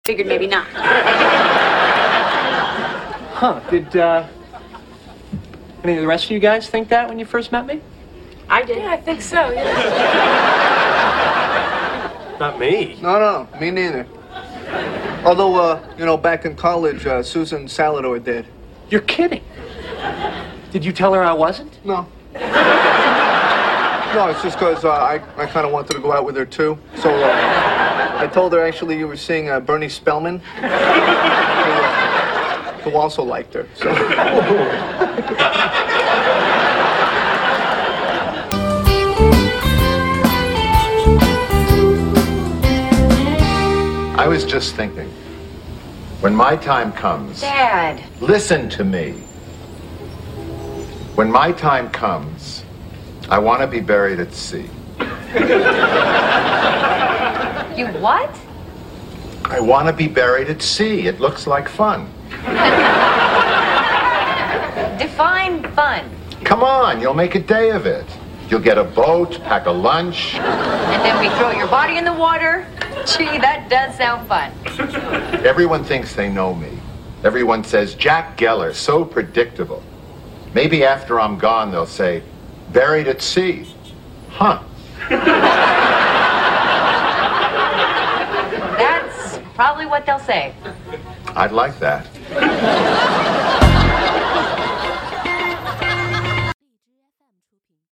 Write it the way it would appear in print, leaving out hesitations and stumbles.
figured maybe not. Huh, did, any of the rest of you guys think that when you first met me? I did. Yeah, I think so, yeah. Not me. No, me neither. Although, back in college, Susan Salador did. You're kidding. Did you tell her I wasn't? No. No, it's just because I kind of wanted to go out with her, too. So I told her, actually, you were seeing Bernie Spellman, who also liked her. So. I was just thinking, when my time comes... Dad. Listen to me. When my time comes, I want to be buried at sea. You what? I want to be buried at sea. It looks like fun. Define fun. Come on, you'll make a day of it. You'll get a boat, pack a lunch. And then we throw your body in the water. Gee, that does sound fun. Everyone thinks they know me. Everyone says, Jack Geller, so predictable. Maybe after I'm gone, they'll say, buried at sea. Huh. That's probably what they'll say. I'd like that.